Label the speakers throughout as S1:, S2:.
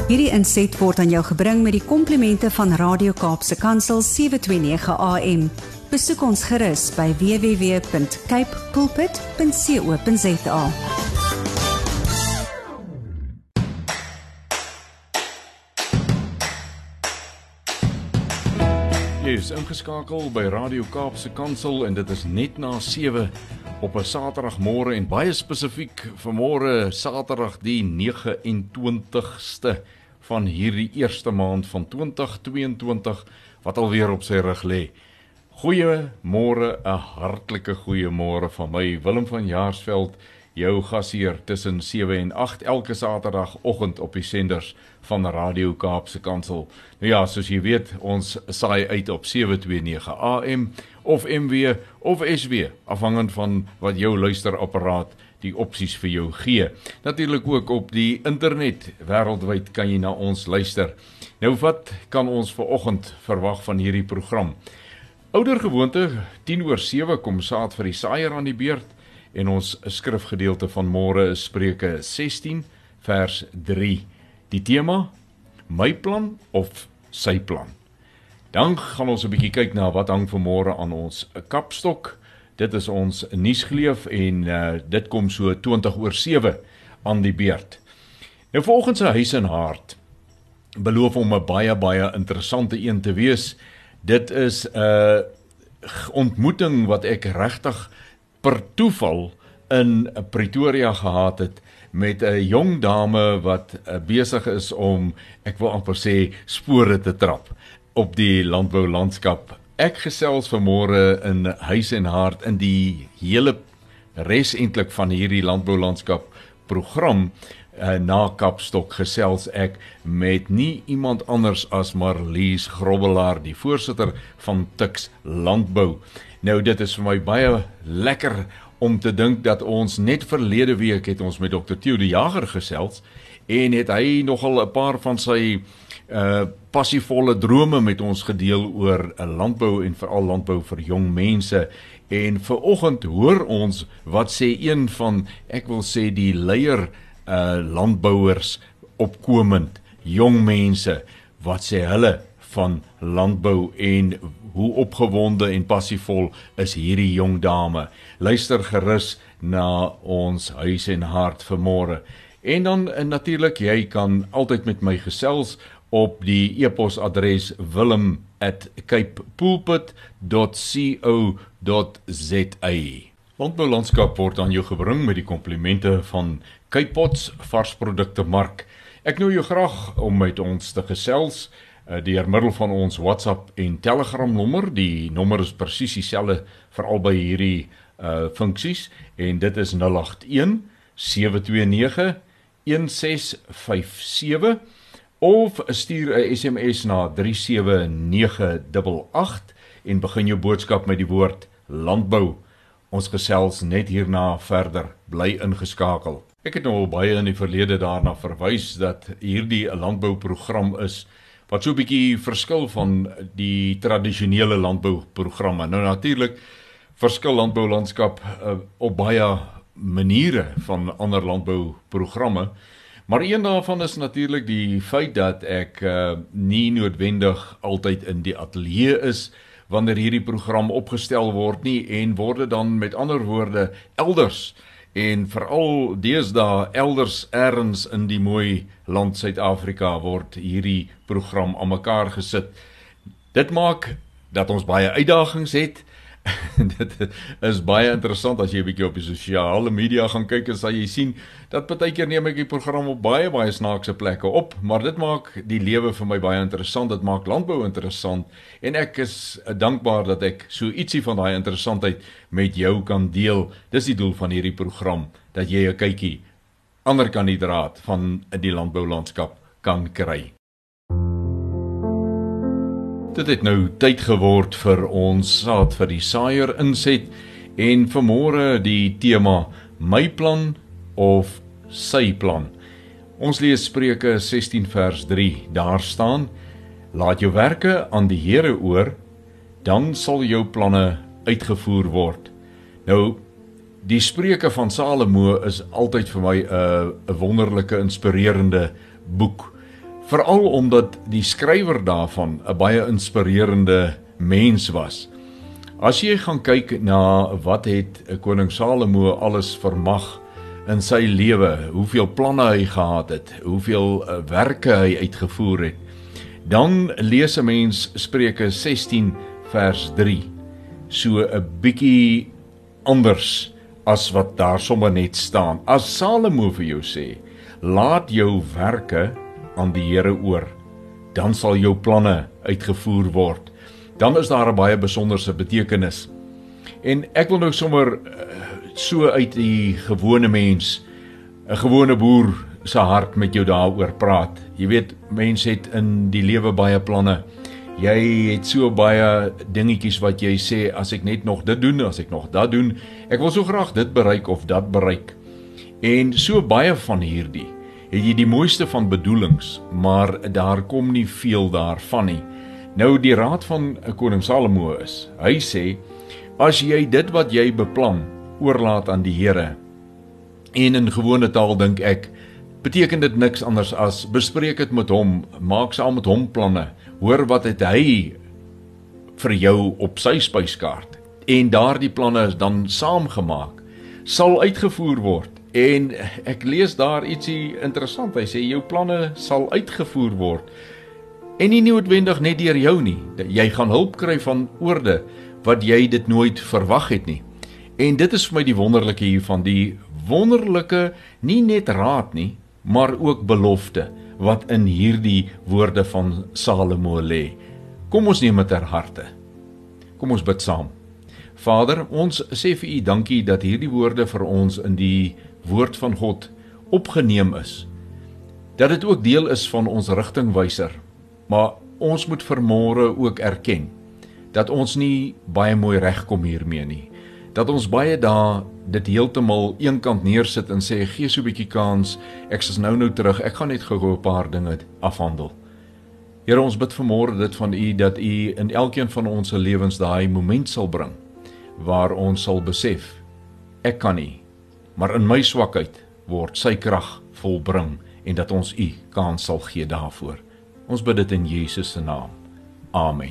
S1: Hierdie inset word aan jou gebring met die komplimente van Radio Kaapse Kansel 729 AM. Besoek ons gerus by www.capepulpit.co.za.
S2: Jy is ingeskakel by Radio Kaapse Kansel en dit is net na 7 op 'n Saterdagmôre en baie spesifiek vanmôre Saterdag die 29ste van hierdie eerste maand van 2022 wat alweer op sy rug lê. Goeiemôre, 'n hartlike goeiemôre van my Willem van Jaarsveld, jou gasheer tussen 7 en 8 elke Saterdagoggend op die senders van Radio Kaapse Kansel. Nou ja, soos jy weet, ons saai uit op 729 AM of MW of SW, afhangend van wat jou luisterapparaat die opsies vir jou gee. Natuurlik ook op die internet, wêreldwyd kan jy na ons luister. Nou wat kan ons vanoggend verwag van hierdie program? Oudergewoonte, 6:10 kom saad vir die saaier aan die beurt en ons skrifgedeelte van môre is Spreuke 16 vers 3. Die tema, my plan of sy plan. Dan gaan ons 'n bietjie kyk na wat hang vanmôre aan ons kapstok. Dit is ons nuusgeleef en dit kom so 7:20 aan die beurt. Nou vanoggend se huis en hart beloof om 'n baie interessante een te wees. Dit is 'n ontmoeting wat ek regtig per toeval in Pretoria gehad het met 'n jong dame wat besig is om, ek wil amper sê, spore te trap op die landboulandskap. Ek gesels vanmôre in huis en hart in die hele res eintlik van hierdie landboulandskap program na Kapstok gesels ek met nie iemand anders as Marlies Grobbelaar, die voorsitter van Tuks Landbou. Nou dit is vir my baie lekker om te dink dat ons net verlede week het ons met Dr. Theo de Jager gesels en het hy nogal 'n paar van sy passievolle drome met ons gedeel oor landbou en veral landbou vir jong mense. En vanoggend hoor ons wat sê een van, ek wil sê die leier landbouers opkomend, jong mense, wat sê hulle van landbou en hoe opgewonde en passievol is hierdie jong dame. Luister gerus na ons huis en hart vanmôre. En dan natuurlik, jy kan altyd met my gesels op die e-posadres willem@capepulpit.co.za. Landboulandskap word aan jou gebring met die komplimente van Cape Pots varsprodukte mark. Ek nooi jou graag om met ons te gesels deur middel van ons WhatsApp en Telegram nommer. Die nommer is presies dieselfde vir albei hierdie funksies en dit is 081 729 1657 of stuur 'n SMS na 37988 en begin jou boodskap met die woord landbou. Ons gesels net hierna verder, bly ingeskakel. Ek het nou al baie in die verlede daarna verwys dat hierdie 'n landbouprogram is wat so 'n bietjie verskil van die tradisionele landbouprogramme. Nou natuurlik verskil landboulandskap op baie maniere van ander landbouprogramme, maar een daarvan is natuurlik die feit dat ek nie noodwendig altyd in die ateljee is wanneer hierdie program opgestel word nie en word dan met ander woorde elders en veral deesdae elders ergens in die mooi land Suid-Afrika word hierdie program aan mekaar gesit. Dit maak dat ons baie uitdagings het. Dit is baie interessant as jy 'n bietjie op die sosiale media gaan kyk en sal jy sien dat partykeer neem ek die program op baie snaakse plekke op, maar dit maak die lewe vir my baie interessant, dit maak landbou interessant en ek is dankbaar dat ek so ietsie van daai interessantheid met jou kan deel. Dis die doel van hierdie program, dat jy 'n kykie ander kan die draad van die landboulandskap kan kry. Dit het nou tyd geword vir ons saad vir die saaier inset en vanmôre die tema my plan of sy plan. Ons lees Spreuke 16 vers 3. Daar staan: laat jou werke aan die Here oor, dan sal jou planne uitgevoer word. Nou die Spreuke van Salomo is altyd vir my 'n wonderlike, inspirerende boek Veral omdat die skrywer daarvan 'n baie inspirerende mens was. As jy gaan kyk na wat het koning Salomo alles vermag in sy lewe, hoeveel planne hy gehad het, hoeveel werke hy uitgevoer het, dan lees 'n mens Spreuke 16 vers 3, so 'n bietjie anders as wat daar sommer net staan. As Salomo vir jou sê, laat jou werke aan die Here oor, dan sal jou planne uitgevoer word. Dan is daar 'n baie besonderse betekenis. En ek wil nou sommer so uit die gewone mens, 'n gewone boer se hart met jou daaroor praat. Jy weet, mense het in die lewe baie planne. Jy het so baie dingetjies wat jy sê, as ek net nog dit doen, as ek nog dat doen, ek wil so graag dit bereik of dat bereik. En so baie van hierdie, het jy die mooiste van bedoelings, maar daar kom nie veel daarvan nie. Nou die raad van koning Salomo is, hy sê, as jy dit wat jy beplan, oorlaat aan die Here, en in gewone taal dink ek, beteken dit niks anders as, bespreek dit met hom, maak saam met hom planne, hoor wat het hy vir jou op sy spyskaart, en daardie planne is dan saamgemaak, sal uitgevoer word. En ek lees daar ietsie interessant, hy sê, jou planne sal uitgevoer word, en nie noodwendig net deur jou nie, jy gaan hulp kry van oorde, wat jy dit nooit verwag het nie. En dit is vir my die wonderlike hiervan, die wonderlike, nie net raad nie, maar ook belofte, wat in hierdie woorde van Salomo lê. Kom ons neem dit ter harte. Kom ons bid saam. Vader, ons sê vir U dankie dat hierdie woorde vir ons in die woord van God opgeneem is. Dat dit ook deel is van ons rigtingwyser, maar ons moet vanmôre ook erken dat ons nie baie mooi regkom hiermee nie. Dat ons baie dae dit heeltemal eenkant neersit en sê, gee so 'n bietjie kans, ek is nou terug, ek gaan net gou 'n paar dinge afhandel. Here, ons bid vanmôre dit van U, dat U in elkeen van ons se lewens daai moment sal bring, waar ons sal besef, ek kan nie, maar in my swakheid word sy krag volbring, en dat ons U kans sal gee daarvoor. Ons bid dit in Jesus se naam. Amen.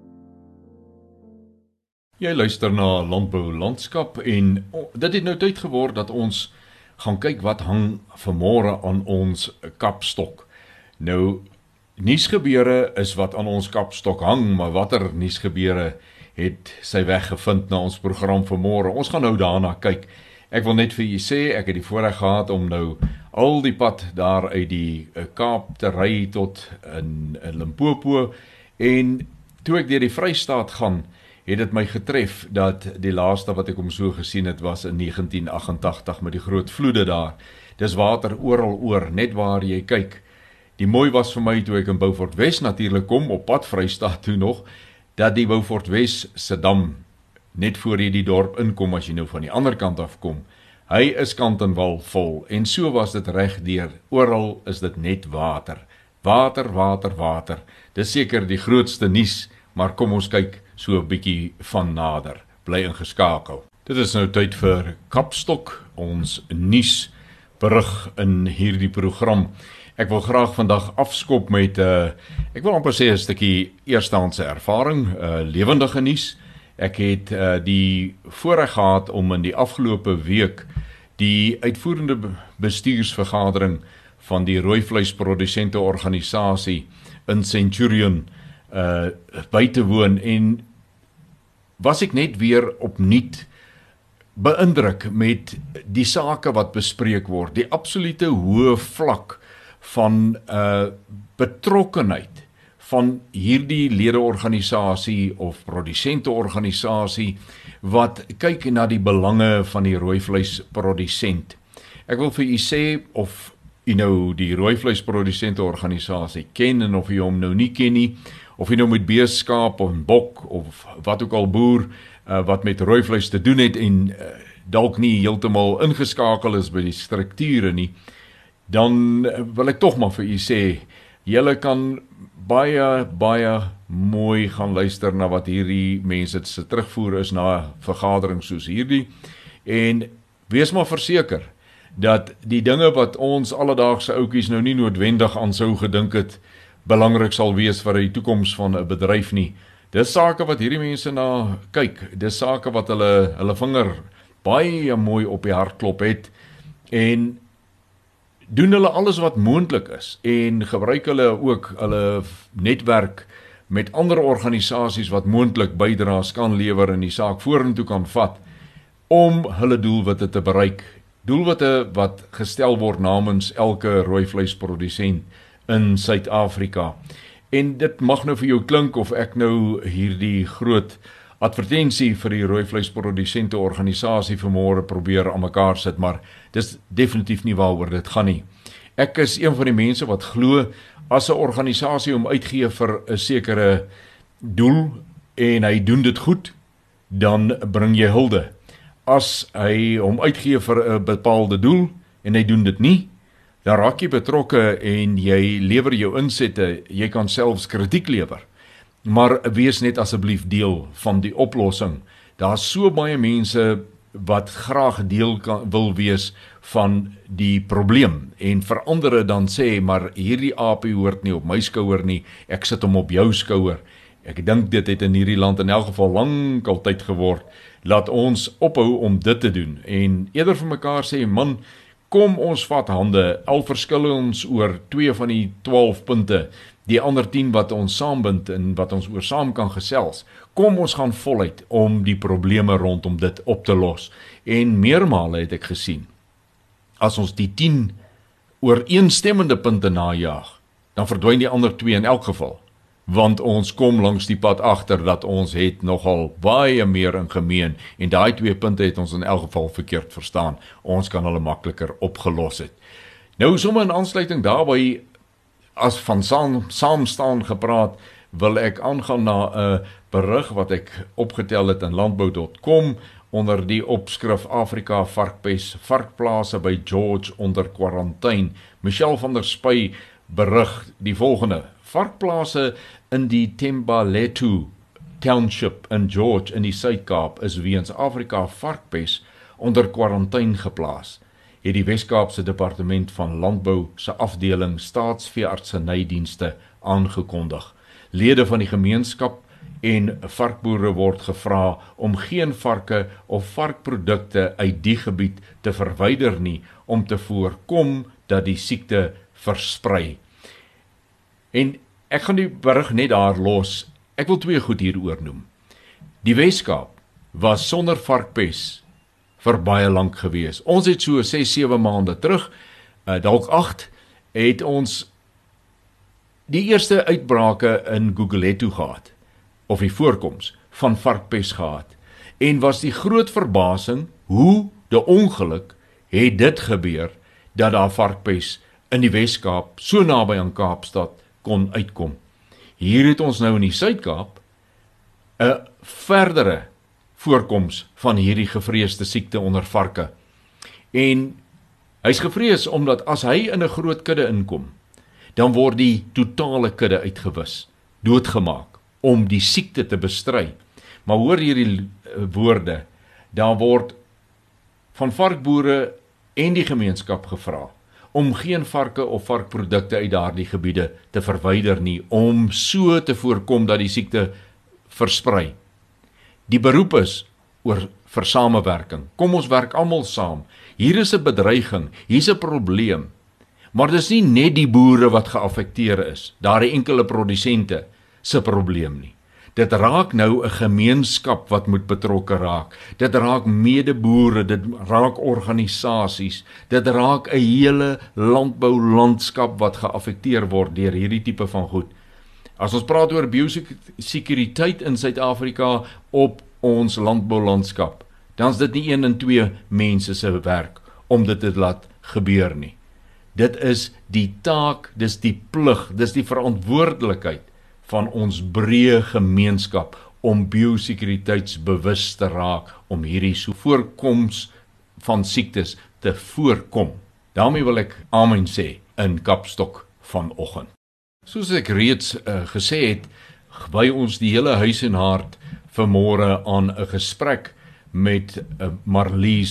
S2: Jy luister na Landbou Landskap, en dit het nou tyd geword dat ons gaan kyk wat hang vanmôre aan ons kapstok. Nou, nuusgebeure is wat aan ons kapstok hang, maar watter nuusgebeure het sy weg gevind na ons program vanmôre. Ons gaan nou daarna kyk. Ek wil net vir julle sê, ek het die voorreg gehad om nou al die pad daar uit die Kaap te ry tot in Limpopo, en toe ek deur die Vrystaat gaan, het dit my getref dat die laaste wat ek hom so gesien het was in 1988 met die groot vloede daar. Dis water oral oor, net waar jy kyk. Die mooi was vir my toe ek in Beaufort Wes natuurlik kom, op pad Vrystaat toe nog, dat die Beaufort Wes se dam, net voor jy die dorp inkom, as jy nou van die ander kant af kom, hy is kant en wal vol, en so was dit reg deur, oral is dit net water. Water, water, water. Dis seker die grootste nuus, maar kom ons kyk so 'n bietjie van nader. Bly ingeskakel. Dit is nou tyd vir Kapstok, ons nuus berig in hierdie program. Ek wil graag vandag afskop met ek wil amper sê 'n stukkie eerstehandse ervaring, lewendige nuus. Ek het die voorreg gehad om in die afgelope week die uitvoerende bestuursvergadering van die rooivleisprodusente organisasie in Centurion by te woon, en was ek net weer opnuut beïndruk met die sake wat bespreek word, die absolute hoë vlak van betrokkenheid van hierdie ledeorganisasie of produsenteorganisasie wat kyk na die belange van die rooivleisprodusent. Ek wil vir u sê, of u nou die rooivleisprodusente-organisasie ken, en of u hom nou nie ken nie, of u nou met beeskaap of bok of wat ook al boer wat met rooivleis te doen het en dalk nie heeltemal ingeskakel is by die strukture nie, dan wil ek tog maar vir u sê, julle kan baie mooi gaan luister na wat hierdie mense se terugvoer is na vergaderings soos hierdie, en wees maar verseker dat die dinge wat ons alledaagse ouetjies nou nie noodwendig aan sou gedink het, belangrik sal wees vir die toekoms van 'n bedryf nie. Dis sake wat hierdie mense na kyk, dis sake wat hulle vinger baie mooi op die hart klop het, en doen hulle alles wat moontlik is, en gebruik hulle ook hulle netwerk met ander organisasies wat moontlik bydraes kan lewer en die saak vorentoe kan vat, om hulle doelwitte te bereik. Doelwitte wat gestel word namens elke rooivleisprodusent in Suid-Afrika. En dit mag nou vir jou klink of ek nou hierdie groot advertensie vir die rooivleisprodusente organisasie vanmôre probeer aan mekaar sit, maar dis definitief nie waaroor dit gaan nie. Ek is een van die mense wat glo, as 'n organisasie hom uitgee vir 'n sekere doel, en hy doen dit goed, dan bring jy hulde. As hy hom uitgee vir 'n bepaalde doel, en hy doen dit nie, dan raak jy betrokke en jy lewer jou insette, jy kan selfs kritiek lewer. Maar wees net asseblief deel van die oplossing. Daar's so baie mense wat graag deel wil wees van die probleem, en vir ander dan sê, maar hierdie aapie hoort nie op my skouer nie, ek sit hom op jou skouer. Ek dink dit het in hierdie land in elk geval lankal tyd geword, laat ons ophou om dit te doen, en eerder vir mekaar sê, man, kom ons vat hande, al verskil ons oor 2 van die 12 punte, die ander 10 wat ons saambind en wat ons oor saam kan gesels. Kom ons gaan voluit om die probleme rondom dit op te los. En meermale het ek gesien, as ons die 10 ooreenstemmende punte najaag, dan verdwyn die ander 2 in elk geval. Want ons kom langs die pad agter dat ons het nogal baie meer in gemeen, en daai 2 punte het ons in elk geval verkeerd verstaan. Ons kan hulle makliker opgelos het. Nou sommer in aansluiting daarby, as van saamstaan gepraat, wil ek aangaan na 'n berig wat ek opgetel het in landbou.com onder die opskrif Afrika varkpes, varkplase by George onder kwarantyne. Michelle van der Spy berig die volgende: varkplase in die Thembalethu Township in George in die Suid-Kaap is weens Afrika varkpes onder kwarantyne geplaas, het die Wes-Kaapse Departement van Landbou se afdeling Staatsveeartsenydienste aangekondig. Lede van die gemeenskap en varkboere word gevra om geen varke of varkprodukte uit die gebied te verwyder nie, om te voorkom dat die siekte versprei. En ek gaan die berig net daar los. Ek wil 2 goed hieroor noem. Die Wes-Kaap was sonder varkpes vir baie lank gewees. Ons het so 6-7 maande terug, dalk 8, het ons die eerste uitbrake in Gugulethu gehad, of die voorkoms van varkpes gehad, en was die groot verbasing, hoe die ongeluk het dit gebeur, dat daar varkpes in die Wes-Kaap, so naby aan Kaapstad, kon uitkom. Hier het ons nou in die Suid-Kaap 'n verdere voorkoms van hierdie gevreesde siekte onder varke. En hy's gevrees omdat as hy in 'n groot kudde inkom, dan word die totale kudde uitgewis, doodgemaak, om die siekte te bestry. Maar hoor hierdie woorde, daar word van varkboere en die gemeenskap gevra om geen varke of varkprodukte uit daardie gebiede te verwyder nie, om so te voorkom dat die siekte versprei. Die beroep is vir samewerking. Kom ons werk almal saam. Hier is 'n bedreiging, hier is 'n probleem. Maar dis nie net die boere wat geaffekteer is, daardie enkele produsente se probleem nie. Dit raak nou 'n gemeenskap wat moet betrokke raak. Dit raak medeboere, dit raak organisasies, dit raak 'n hele landboulandskap wat geaffekteer word deur hierdie tipe van goed. As ons praat oor biosekuriteit in Suid-Afrika op ons landboulandskap, dan is dit nie 1 en 2 mense se werk om dit te laat gebeur nie. Dit is die taak, dis die plig, dis die verantwoordelikheid van ons breë gemeenskap om biosekuriteitsbewus te raak, om hierdie so voorkoms van siektes te voorkom. Daarmee wil ek amen sê in Kapstok vanoggend. Soos ek reeds gesê het, wy ons die hele huis en hart vanmôre aan 'n gesprek met Marlies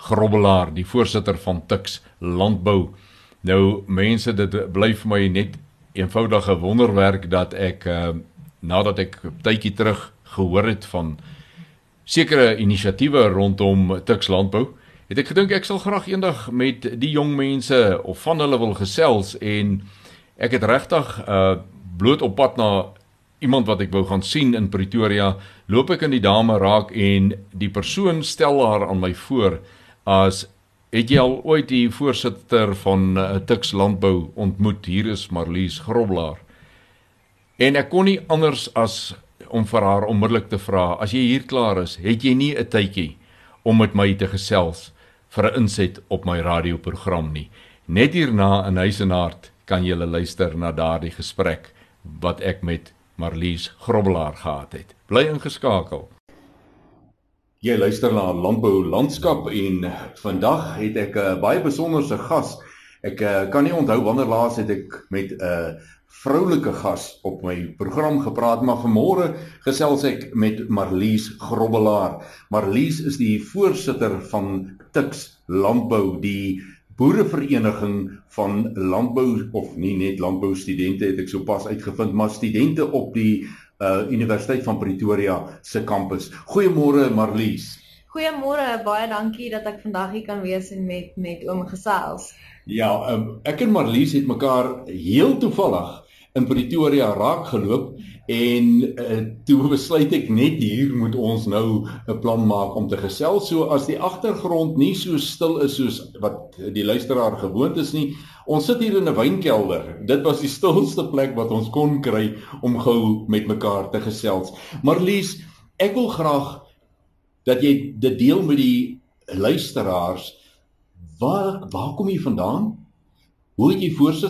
S2: Grobbelaar, die voorsitter van Tuks Landbou. Nou mense, dit bly vir my net eenvoudige wonderwerk dat ek nadat ek 'n tydjie terug gehoor het van sekere inisiatiewe rondom Tuks Landbou, het ek gedink ek sal graag eendag met die jong mense of van hulle wil gesels en ek het regtig bloot op pad na iemand wat ek wou gaan sien in Pretoria, loop ek in die dame raak en die persoon stel haar aan my voor as, het jy al ooit die voorsitter van Tuks Landbou ontmoet? Hier is Marlies Grobbelaar. En ek kon nie anders as om vir haar onmiddellik te vra, as jy hier klaar is, het jy nie 'n tydjie om met my te gesels vir 'n inset op my radioprogram nie. Net hierna in Huis en Hart kan julle luister na daardie gesprek wat ek met Marlies Grobbelaar gehad het. Bly ingeskakel. Jy luister na Landbou Landskap en vandag het ek 'n baie besonderse gas. Ek kan nie onthou wanneer laas het ek met 'n vroulike gas op my program gepraat, maar vanmôre gesels ek met Marlies Grobbelaar. Marlies is die voorsitter van Tuks Landbou, die boerevereniging van landbou, of nie net landboustudente het ek sopas uitgevind, maar studente op die Universiteit van Pretoria se kampus. Goeiemôre Marlies.
S3: Goeiemôre, baie dankie dat ek vandag hier kan wees en met oom gesels.
S2: Ja, ek en Marlies het mekaar heel toevallig in Pretoria raak geloop en toe besluit ek net hier moet ons nou 'n plan maak om te gesels. So as die agtergrond nie so stil is soos wat die luisteraar gewoond is nie, ons sit hier in 'n wynkelder. Dit was die stilste plek wat ons kon kry om gou met mekaar te gesels. Marlies, ek wil graag dat jy dit deel met die luisteraars. Waar kom jy vandaan? Hoe het jy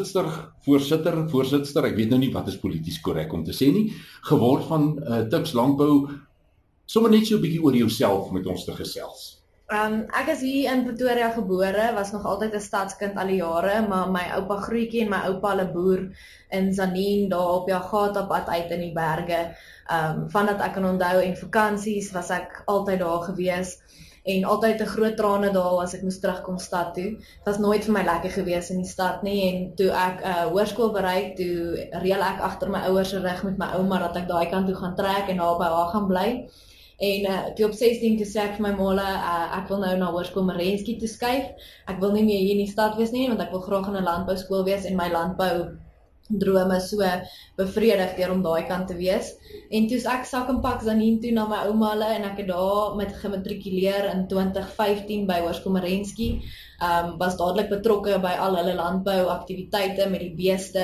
S2: voorsitter, ek weet nou nie wat is polities korrek om te sê nie, geword van Tuks Landbou, sommer net so 'n bietjie oor jouself met ons te gesels.
S3: Ek is hier in Pretoria gebore, was nog altyd 'n stadskind al die jare, maar my oupa Grootjie en my oupa hulle boer in Zanien, daar op Jagata pad uit in die berge. Vandat ek kan onthou en vakansies was ek altyd daar gewees. En altyd 'n groot trane daal as ek moes terugkom stad toe. Dit was nooit vir my lekker gewees in die stad nie, en toe ek hoërskool bereik, toe reël ek agter my ouers se rug met my ouma dat ek daai kant toe gaan trek en daar by haar gaan bly. En toe op 16 toe sê ek vir my ma, ek wil nou na Hoërskool Merensky toe skuif. Ek wil nie meer hier in die stad wees nie, want ek wil graag in 'n landbouskool wees en my landbou drome so bevredig deur om daai kant te wees. En toe ek sak en pak Zanien toe na my ouma hulle en ek het daar met gematrikuleer in 2015 by Hoërskool Merensky. Was dadelik betrokke by al hulle landbouaktiwiteite met die beeste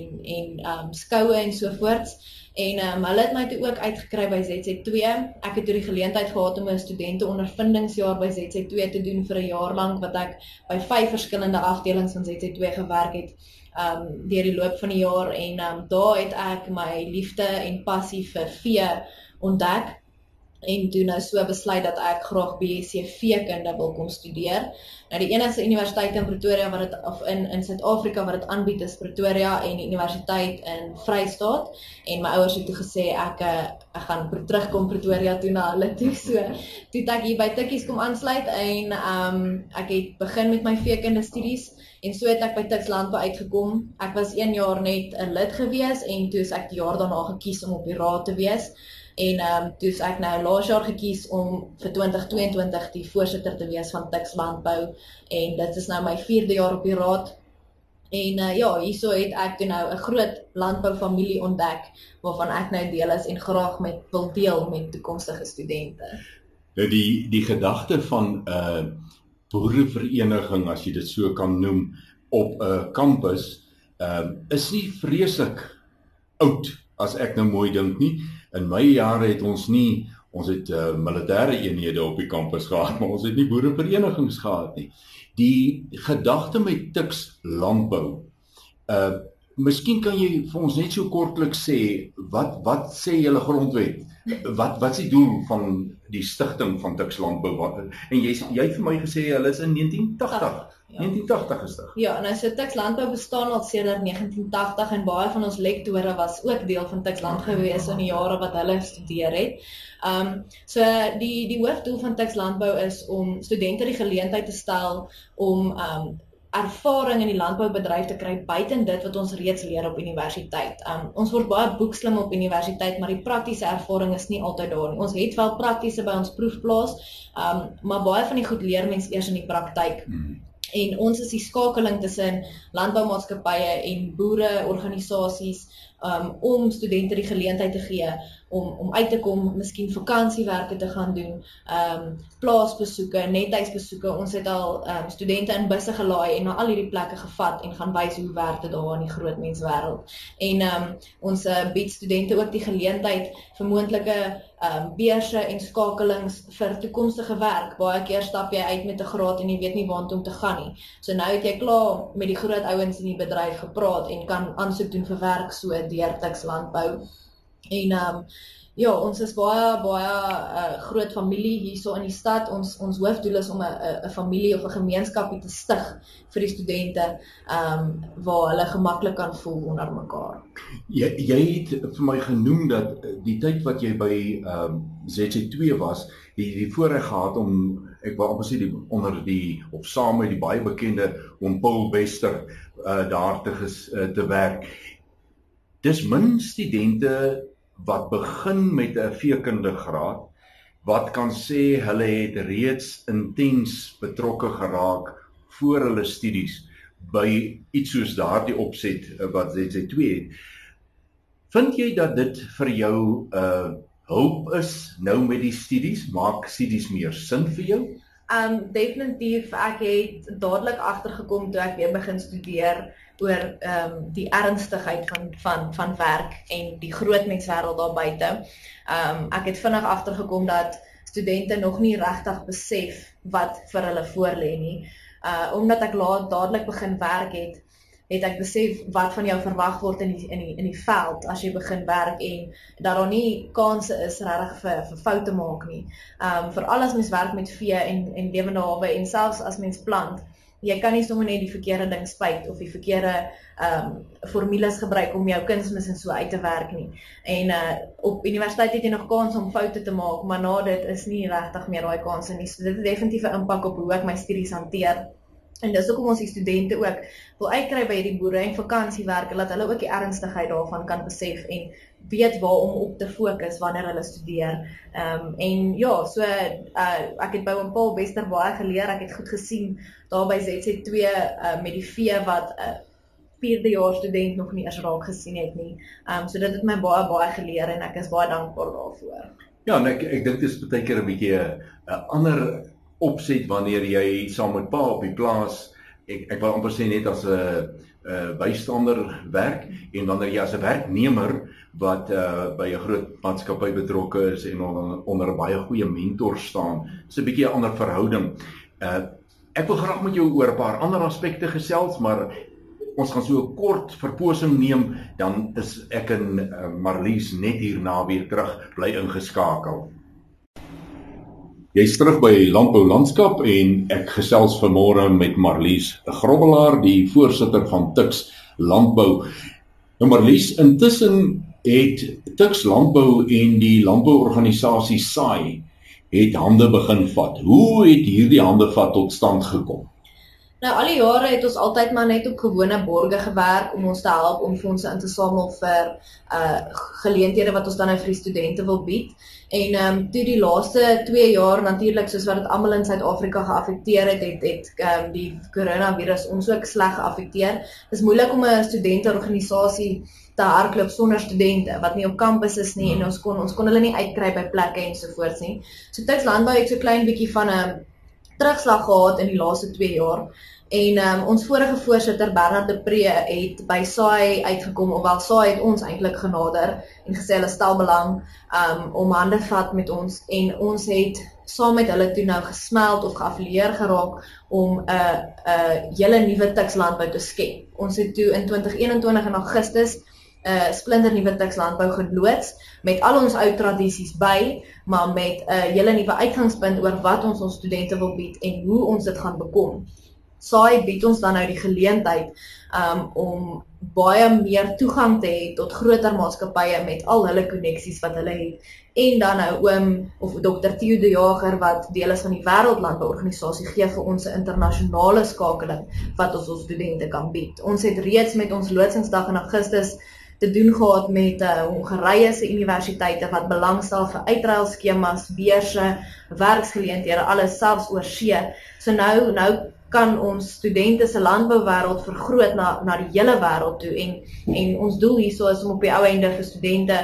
S3: en skoue en sovoorts. En hulle het my toe ook uitgekry by ZZ2. Ek het toe die geleentheid gehad om 'n studenteondervindingsjaar by ZZ2 te doen vir 'n jaar lank, wat ek by 5 verskillende afdelings van ZZ2 gewerk het deur die loop van die jaar. En daar het ek my liefde en passie vir vee ontdek. En toe nou so besluit dat ek graag BSc veekunde wil kom studeer. Nou die enigste universiteit in Pretoria wat dit, of in Suid-Afrika wat dit aanbied, is Pretoria en die universiteit in Vrystaat. En my ouers het toe gesê ek gaan terugkom Pretoria toe na hulle toe. So toe het ek hier by Tukkies kom aansluit en ek het begin met my veekunde studies. En so het ek by Tuks Landbou uitgekom. Ek was 1 jaar net 'n lid gewees en toe is ek die jaar daarna gekies om op die raad te wees. En toe is ek nou laas jaar gekies om vir 2022 die voorsitter te wees van Tuks Landbou. En dit is nou my 4de jaar op die raad. En ja, hierso het ek toe nou 'n groot landboufamilie ontdek, waarvan ek nou deel is en graag wil deel met toekomstige studente.
S2: Nou die gedagte van boerevereniging, as jy dit so kan noem, op 'n kampus, is nie vreeslik oud, as ek nou mooi dink nie. In my jare het ons het militêre eenhede op die kampus gehad, maar ons het nie boereverenigings gehad nie. Die gedagte met Tuks Landbou, miskien kan jy vir ons net so kortliks sê, wat sê julle grondwet Wat is die doel van die stigting van Tuks Landbou? En jy het vir my gesê hulle is in 1980.
S3: Ja.
S2: 1980 gestig.
S3: Ja, nou so Tuks Landbou bestaan al sedert 1980 en baie van ons lektore was ook deel van Tuks Landbou gewees in die jare wat hulle studeer het. So die hoofdoel van Tuks Landbou is om studente die geleentheid te stel om ervaring in die landboubedryf te kry buiten dit wat ons reeds leer op universiteit. Ons word baie boekslim op universiteit, maar die praktiese ervaring is nie altyd daar nie. Ons het wel praktiese by ons proefplaas, maar baie van die goed leer mens eers in die praktyk. En ons is die skakeling tussen landboumaatskappye en boereorganisasies om studente die geleentheid te gee om uit te kom, miskien vakansiewerke te gaan doen, plaasbesoeke, nethuisbesoeke. Ons het al studente in busse gelaai en na al hierdie plekke gevat en gaan wys hoe werk dit daar in die groot menswêreld. En ons bied studente ook die geleentheid vir moontlike beurse en skakelings vir toekomstige werk. Baie keer stap jy uit met 'n graad en jy weet nie waartoe om te gaan nie. So nou het jy klaar met die groot ouens in die bedryf gepraat en kan aansoek doen vir werk so deur Tuks Landbou. En ja, ons is baie groot familie hierso in die stad. Ons hoofdoel is om 'n familie of 'n gemeenskapie te stig vir die studente waar hulle gemaklik kan voel onder mekaar.
S2: Jy het vir my genoem dat die tyd wat jy by ZC2 was, die voorreg gehad om, ek wou amper sê saam met die baie bekende om Paul Bester daar te werk. Dis min studente wat begin met 'n veekundige graad, wat kan sê hulle het reeds intens betrokke geraak voor hulle studies by iets soos daardie opset wat ZC2 het. Vind jy dat dit vir jou hulp is nou met die studies? Maak studies meer sin vir jou?
S3: Definitief, ek het dadelik agtergekom toe ek weer begin studeer oor die ernstigheid van werk en die groot menswêreld daar buite. Ek het vinnig agtergekom dat studente nog nie regtig besef wat vir hulle voorlê nie. Omdat ek dadelik begin werk het ek besef wat van jou verwag word in die veld as jy begin werk en dat daar nie kanse is regtig vir foute maak nie. Veral as mens werk met vee en lewende hawe en selfs as mens plant. Jy kan nie sommer net die verkeerde ding spuit of die verkeerde formules gebruik om jou kunsmis en so uit te werk nie. En op universiteit het jy nog kans om foute te maak, maar na dit is nie regtig meer daai kanse nie. So dit het definitief 'n impak op hoe ek my studies hanteer. En dis hoekom ons die studente ook wil uitkry by hierdie boere en vakansiewerke, dat hulle ook die ernstigheid daarvan kan besef en weet waar om op te fokus wanneer hulle studeer. En ja, so ek het by oom Paul Bester baie geleer, ek het goed gesien daar by ZC2 met die vee wat 4de jaar student nog nie eens raak gesien het nie. So dit het my baie geleer en ek is baie dankbaar daarvoor.
S2: Ja, en ek dink dit is baie keer 'n bietjie 'n ander opset wanneer jy saam met pa op die plaas, ek wil amper sê net as 'n bystander werk, en wanneer jy as 'n werknemer wat by 'n groot maatskappy betrokke is en onder 'n baie goeie mentor staan, is 'n bietjie 'n ander verhouding. Ek wil graag met jou oor 'n paar ander aspekte gesels, maar ons gaan so 'n kort verposing neem, dan is ek en Marlies net hierna weer terug, bly ingeskakel. Jy's terug by Landbou Landskap en ek gesels vanmôre met Marlies Grobbelaar, die voorsitter van Tuks Landbou. Nou Marlies, intussen het Tuks Landbou en die landbouorganisasie SAI het hande begin vat. Hoe het hierdie handevat tot stand gekom?
S3: Nou al die jare het ons altyd maar net op gewone borge gewerk om ons te help om fondse in te samel vir geleenthede wat ons dan nou vir die studente wil bied. En toe die laaste 2 jaar natuurlik soos wat dit almal in Suid-Afrika geaffekteer het die coronavirus ons ook sleg geaffekteer. Dit is moeilik om 'n studenteorganisasie te hardloop sonder studente wat nie op kampus is nie en ons kon hulle nie uitkry by plekke ensovoorts nie. So Tuks Landbou het so klein bietjie van 'n terugslag gehad in die laaste 2 jaar. En ons vorige voorsitter Bernard de Pre het by SAI uitgekom, ofwel SAI het ons eintlik genader en gesê hulle stel belang om hande vat met ons en ons het saam met hulle toe nou gesmeld of geaffilieer geraak om 'n hele nuwe Tuks Landbou te skep. Ons het toe in 2021 in Augustus splinternuwe Tuks landbou geloods, met al ons ou tradisies by, maar met 'n hele nuwe uitgangspunt oor wat ons studente wil bied en hoe ons dit gaan bekom. SAI bied ons dan nou die geleentheid om baie meer toegang te hê tot groter maatskappye met al hulle koneksies wat hulle het. En dan nou oom of Dr. Theo de Jager wat deel is van die Wêreldlandbouorganisasie gee vir ons 'n internasionale skakeling wat ons studente kan bied. Ons het reeds met ons loodzingsdag in Augustus te doen gehad met Hongarye se universiteite wat belangstel vir uitruilskemas, beurse, werksgeleenthede, alles selfs oor see. So nou kan ons studente se landbouwêreld vergroot na die hele wêreld toe en ons doel hierso is om op die ou einde vir studente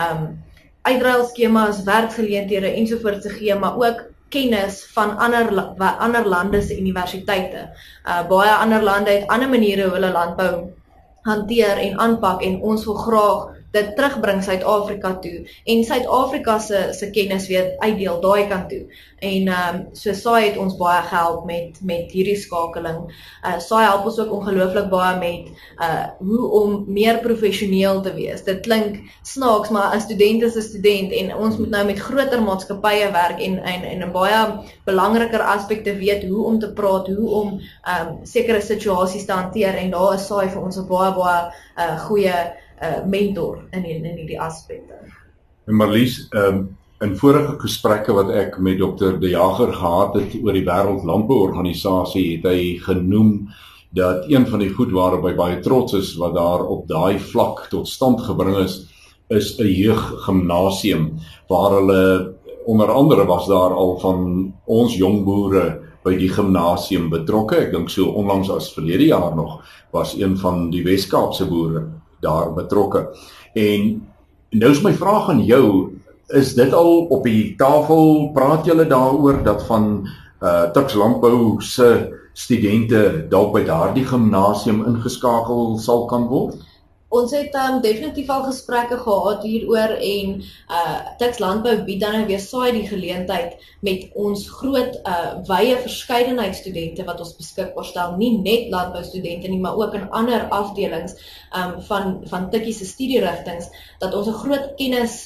S3: uitruilskemas, werksgeleenthede ensovoorts te gee, maar ook kennis van ander lande se universiteite. Baie ander lande het ander maniere hoe hulle landbou hanteer en aanpak en ons wil graag dit terugbring Suid-Afrika toe en Suid-Afrika se kennis weer uitdeel daai kant toe. En so SAI het ons baie gehelp met hierdie skakeling. SAI help ons ook ongelooflik baie met hoe om meer professioneel te wees. Dit klink snaaks, maar 'n student is 'n student en ons moet nou met groter maatskappye werk en 'n baie belangriker aspekte weet hoe om te praat, hoe om sekere situasies te hanteer en daar is SAI vir ons 'n baie goeie mentor in hierdie aspekte.
S2: En Marlies, in vorige gesprekke wat ek met Dr. de Jager gehad het oor die Wêreldlandbouorganisasie, het hy genoem dat een van die goed waarop hy baie trots is wat daar op daai vlak tot stand gebring is 'n jeuggimnasium waar hulle onder andere was daar al van ons jong boere by die gimnasium betrokke. Ek dink so onlangs as verlede jaar nog was een van die Wes-Kaapse boere daar betrokke. En nou is my vraag aan jou, is dit al op die tafel, praat julle daaroor dat van Tuks landbou se studente dalk by daardie gimnasium ingeskakel sal kan word?
S3: Ons het definitief al gesprekke gehad hieroor en Tuks landbou bied dan weer SAI die geleentheid met ons groot wye verskeidenheid studente wat ons beskikbaar stel, nie net landboustudente nie, maar ook in ander afdelings van Tukkie se studierigtings, dat ons 'n groot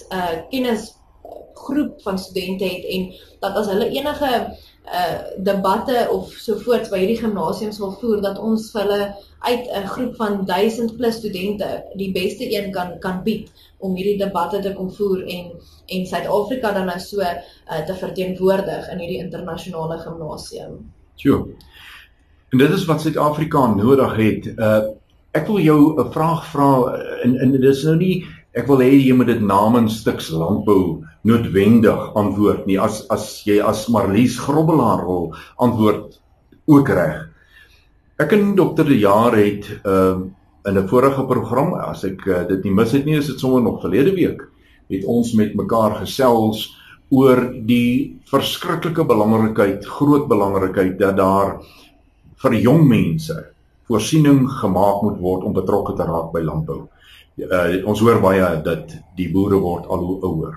S3: kennisgroep van studente het en dat as hulle enige debatte of sovoorts by hierdie gimnasiums wil voer, dat ons vir hulle uit 'n groep van 1000 plus studente die beste een kan bied om hierdie debatte te kom voer en Suid-Afrika dan nou so te verteenwoordig in hierdie internasionale gimnasium.
S2: Sjoe. En dit is wat Suid-Afrika nodig het. Ek wil jou 'n vraag vra en dit is nou nie, ek wil hê jy moet dit namens Tuks landbou noodwendig antwoord nie. As jy as Marlies Grobbelaar wil antwoord, ook reg. Ek en Dr. de Jager het in 'n vorige program, as ek dit nie mis het nie, is dit sommer nog verlede week, het ons met mekaar gesels oor die verskriklike belangrikheid, groot belangrikheid dat daar vir jong mense voorsiening gemaak moet word om betrokke te raak by landbou. Ons hoor baie dat die boere word al hoe ouer.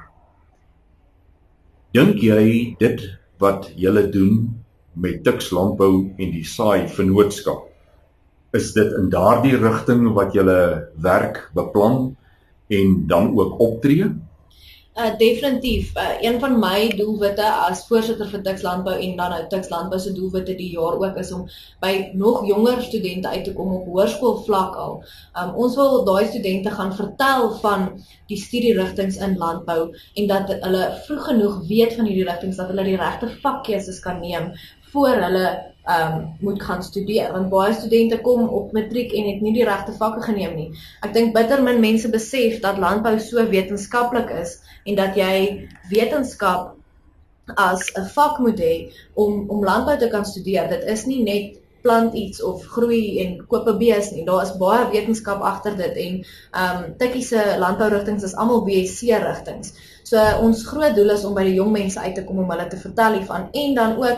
S2: Dink jy dit wat julle doen met Tuks landbou en die SAI vennootskap, is dit in daardie rigting wat julle werk beplan en dan ook optree?
S3: Definitief. Een van my doelwitte as voorsitter vir Tuks landbou en dan nou Tuks landbou se doelwitte die jaar ook is om by nog jonger studente uit te kom op hoërskoolvlak al. Ons wil daai studente gaan vertel van die studierigtings in landbou en dat hulle vroeg genoeg weet van hierdie rigtings, dat hulle die regte vakkeuses kan neem voor hulle moet gaan studeer, want baie studente kom op matriek en het nie die regte vakke geneem nie. Ek dink bitter min mense besef dat landbou so wetenskaplik is en dat jy wetenskap as 'n vak moet hê om landbou te kan studeer. Dit is nie net plant iets of groei en koop 'n bees nie. Daar is baie wetenskap agter dit en Tukkie se landbourigtings is almal BSc rigtings. So ons groot doel is om by die jong mense uit te kom om hulle te vertel hiervan en dan ook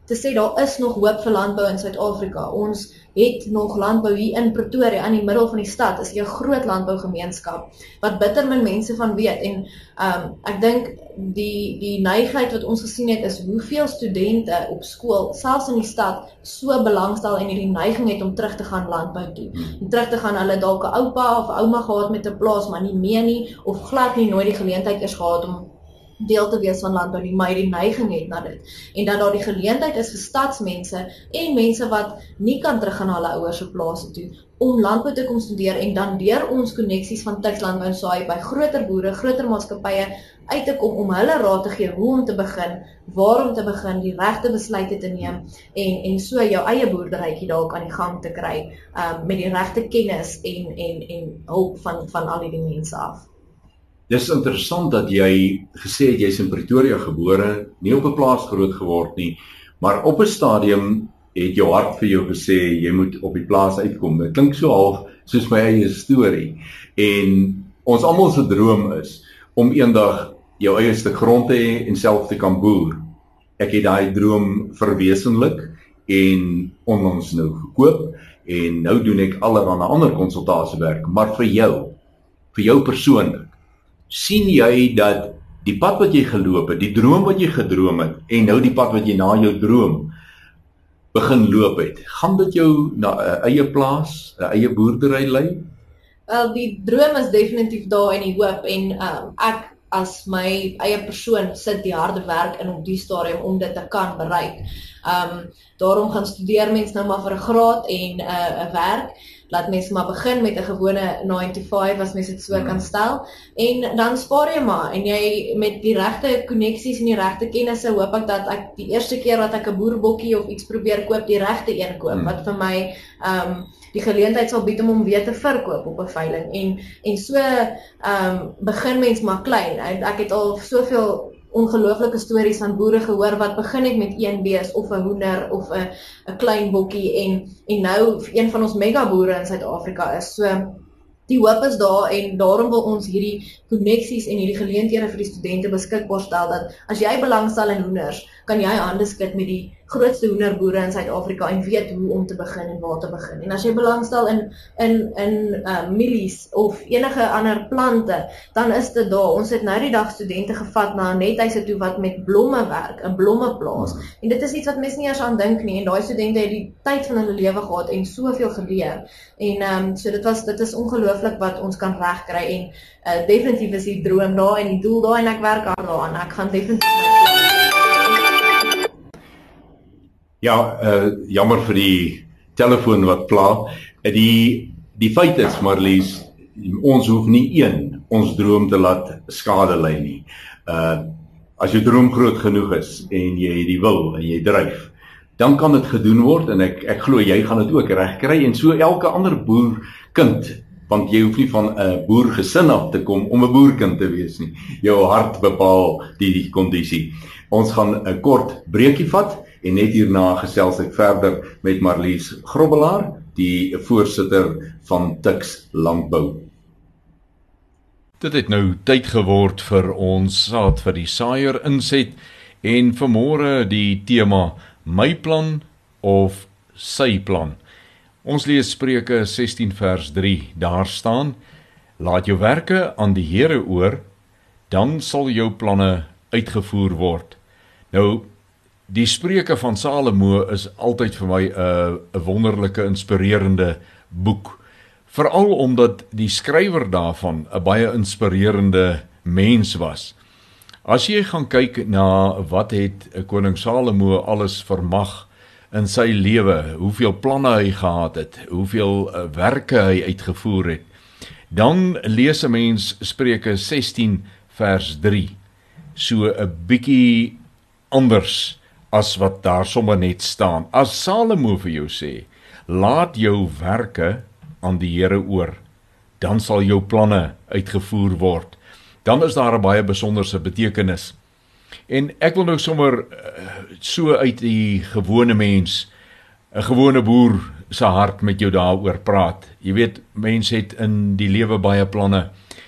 S3: te sê daar is nog hoop vir landbou in Suid-Afrika. Ons het nog landbou hier in Pretoria, in die middel van die stad, is hier 'n groot landbougemeenskap, wat bitter min mense van weet, en ek dink die neigheid wat ons gesien het, is hoeveel studente op skool, selfs in die stad, so belangstel en hierdie neiging het om terug te gaan landbou toe. En terug te gaan, hulle dalk 'n oupa of ouma gehad met 'n plaas, maar nie meer nie, of glad nie nooit die geleentheid is gehad om deel te wees van landbou nie, maar die neiging het na dit. En dat daar die geleentheid is vir stadsmense en mense wat nie kan teruggaan na hulle ouers se plase toe, om landbou te kom studeer en dan deur ons koneksies van Tuks Landbou en Saai by groter boere, groter maatskappye uit te kom om hulle raad te gee hoe om te begin, waar om te begin, die regte besluite te neem en so jou eie boerderytjie dalk aan die gang te kry met die regte kennis en hulp van al die mense af.
S2: Dis interessant dat jy gesê het jy's in Pretoria gebore, nie op 'n plaas groot geword nie, maar op 'n stadium het jou hart vir jou gesê jy moet op die plaas uitkom. Dit klink so half soos my eie storie. En ons almal se droom is om eendag jou eie stuk grond te hê en self te kan boer. Ek het daai droom verwesenlik en onlangs nou gekoop en nou doen ek allerlei ander konsultasiewerk, maar vir jou persoonlik, sien jy dat die pad wat jy geloop het, die droom wat jy gedroom het, en nou die pad wat jy na jou droom begin loop het, gaan dit jou na 'n eie plaas, 'n eie boerdery lei?
S3: Wel, die droom is definitief daar en die hoop, en ek as my eie persoon sit die harde werk in op die stadium om dit te kan bereik. Daarom gaan studeer mens nou maar vir 'n graad en 'n werk. Laat mens maar begin met 'n gewone 9 to 5 as mens dit so kan stel, en dan spaar jy maar, en jy met die regte koneksies en die regte kennisse hoop ek dat ek die eerste keer wat ek 'n boerbokkie of iets probeer koop, die regte een koop, wat vir my die geleentheid sal bied om hom weer te verkoop op 'n veiling, en so begin mens maar klein. Ek het al soveel ongelooflike stories van boere gehoor wat begin het met een bees of 'n hoender of 'n klein bokkie en nou een van ons megaboere in Suid-Afrika is. So die hoop is daar, en daarom wil ons hierdie koneksies en hierdie geleenthede vir die studente beskikbaar stel, dat as jy belangstel in hoenders, kan jy hande skud met die grootste hoenderboere in Suid-Afrika en weet hoe om te begin en waar te begin. En as jy belangstel in mielies of enige ander plante, dan is dit daar. Ons het nou die dag studente gevat na 'n nethuise toe wat met blomme werk, 'n blommeplaas. En dit is iets wat mense nie eers aan dink nie, en daai studente het die tyd van hulle lewe gehad en soveel geleer. En so dit is ongelooflik wat ons kan regkry, en definitief is die droom daar en die doel daar, en ek werk hard daaraan. Ek gaan definitief
S2: Ja, jammer vir die telefoon wat pla. Die feit is, Marlies, ons hoef nie ons droom te laat skade ly nie. As jou droom groot genoeg is en jy die wil en jy dryf, dan kan dit gedoen word, en ek glo jy gaan dit ook regkry, en so elke ander boerkind, want jy hoef nie van 'n boergesin af te kom om 'n boerkind te wees nie. Jou hart bepaal die kondisie. Ons gaan 'n kort breekie vat, en net hierna gesels ek verder met Marlies Grobbelaar, die voorsitter van Tuks Landbou. Dit het nou tyd geword vir ons saad vir die saaier inset, en vanmôre die tema my plan of sy plan. Ons lees Spreuke 16 vers 3, daar staan: laat jou werke aan die Here oor, dan sal jou planne uitgevoer word. Nou, die Spreuke van Salomo is altyd vir my 'n wonderlike, inspirerende boek. Veral omdat die skrywer daarvan 'n baie inspirerende mens was. As jy gaan kyk na wat het koning Salomo alles vermag in sy lewe, hoeveel planne hy gehad het, hoeveel werke hy uitgevoer het, dan lees 'n mens Spreuke 16 vers 3, so 'n bietjie anders as wat daar sommer net staan. As Salomo vir jou sê, laat jou werke aan die Here oor, dan sal jou planne uitgevoer word. Dan is daar 'n baie besonderse betekenis. En ek wil nou sommer so uit die gewone mens, 'n gewone boer se hart met jou daaroor praat. Jy weet, mens het in die lewe baie planne,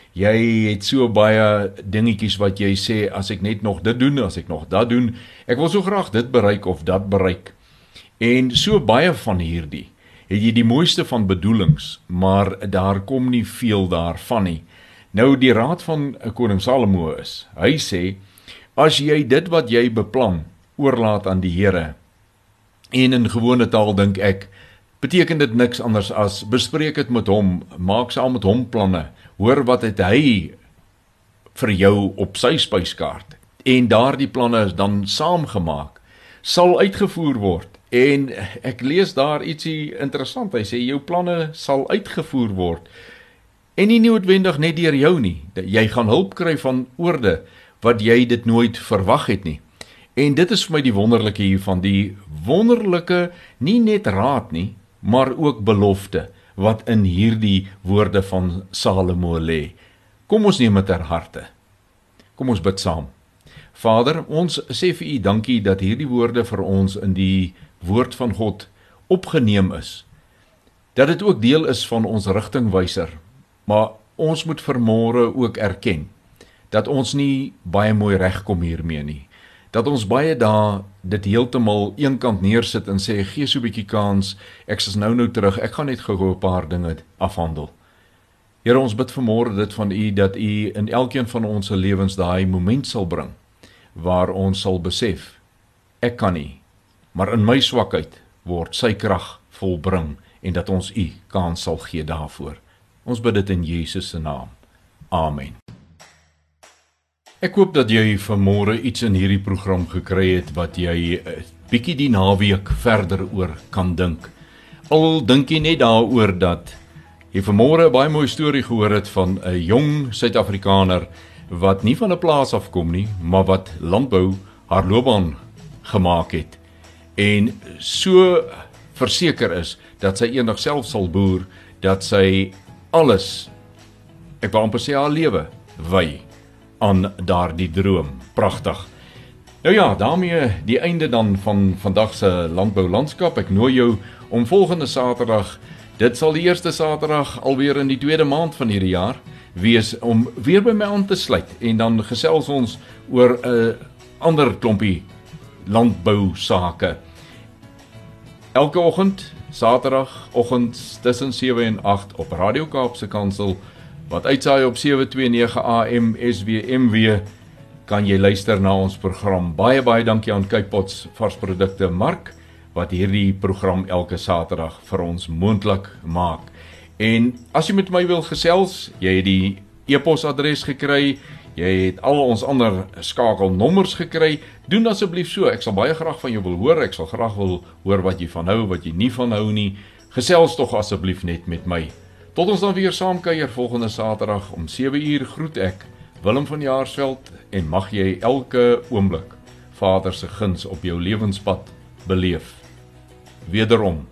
S2: Jy het so baie dingetjies wat jy sê, as ek net nog dit doen, as ek nog dat doen, ek wil so graag dit bereik of dat bereik. En so baie van hierdie, het jy die mooiste van bedoelings, maar daar kom nie veel daarvan nie. Nou die raad van koning Salomo is, hy sê, as jy dit wat jy beplan, oorlaat aan die Here, en in gewone taal dink ek, beteken dit niks anders as, bespreek het met hom, maak saam met hom planne, hoor wat het hy vir jou op sy spyskaart, en daardie planne is dan saamgemaak, sal uitgevoer word, en ek lees daar ietsie interessant, hy sê, jou planne sal uitgevoer word, en nie noodwendig net deur jou nie, jy gaan hulp kry van oorde, wat jy dit nooit verwag het nie, en dit is vir my die wonderlike hiervan, die wonderlike, nie net raad nie, maar ook belofte, wat in hierdie woorde van Salomo lê. Kom ons neem dit ter harte. Kom ons bid saam. Vader, ons sê vir U dankie dat hierdie woorde vir ons in die woord van God opgeneem is. Dat dit ook deel is van ons rigtingwyser, maar ons moet vanmôre ook erken, dat ons nie baie mooi regkom hiermee nie. Dat ons baie dae dit heeltemal eenkant neersit en sê, gee so 'n bietjie kans, ek is nou terug, ek gaan net gou 'n paar dinge afhandel. Here, ons bid vanmôre dit van U, dat U in elkeen van ons lewens daai moment sal bring, waar ons sal besef, ek kan nie, maar in my swakheid word sy krag volbring, en dat ons U kans sal gee daarvoor. Ons bid dit in Jesus se naam. Amen. Ek hoop dat jy vanmôre iets in hierdie program gekry het wat jy bietjie die naweek verder oor kan dink. Al dink jy net daaroor dat jy vanmôre 'n baie mooi storie gehoor het van 'n jong Suid-Afrikaner wat nie van 'n plaas afkom nie, maar wat landbou haar loopbaan gemaak het en so verseker is dat sy eendag self sal boer, dat sy alles, ek wil amper sê haar lewe, wy aan daardie droom. Pragtig. Nou ja, daarmee die einde dan van vandag se landboulandskap. Ek nooi jou om volgende Saterdag, dit sal die eerste Saterdag alweer in die tweede maand van hierdie jaar wees, om weer by my aan te sluit, en dan gesels ons oor 'n ander klompie landbou sake. Elke oggend, Saterdagoggend tussen 7 en 8 op Radio Kaapse Kansel, wat uitsaai op 729 AM SWMW, kan jy luister na ons program. Baie dankie aan Kypots varsprodukte Mark, wat hierdie program elke Saterdag vir ons moontlik maak. En as jy met my wil gesels, jy het die e-posadres gekry, jy het al ons ander skakelnommers gekry, doen asseblief so, ek sal baie graag van jou wil hoor, ek sal graag wil hoor wat jy van hou, wat jy nie van hou nie, gesels tog asseblief net met my. Tot ons dan weer saamkuier volgende Saterdag om 7 uur groet ek, Willem van Jaarsveld, en mag jy elke oomblik Vader se guns op jou lewenspad beleef. Wederom.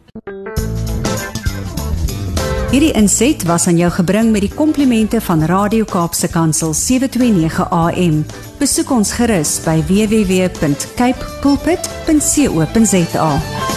S1: Hierdie inset was aan jou gebring met die komplimente van Radio Kaapse Kansel 729 AM. Besoek ons gerus by www.cape pulpit.co.za.